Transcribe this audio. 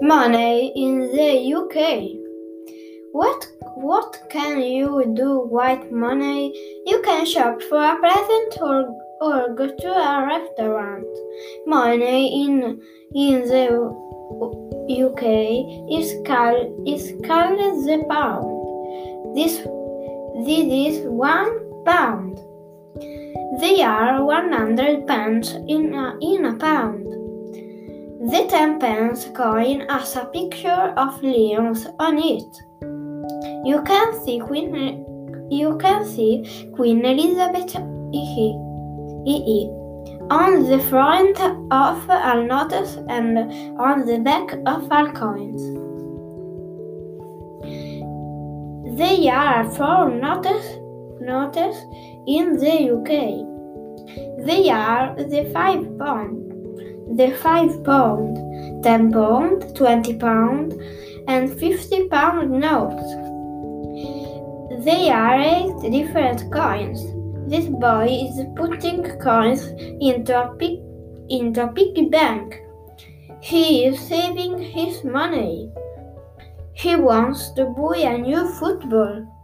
Money in the UK. What can you do with money? You can shop for a present or go to a restaurant. Money in the UK is called the pound. This is £1. There are 100 pence in a pound. The 10-pence coin has a picture of lions on it. You can see Queen Elizabeth II on the front of our notes and on the back of our coins. There are 4 notes in the UK. They are the £5, the £5, £10, £20, and £50 notes. There are 8 different coins. This boy is putting coins into a piggy bank. He is saving his money. He wants to buy a new football.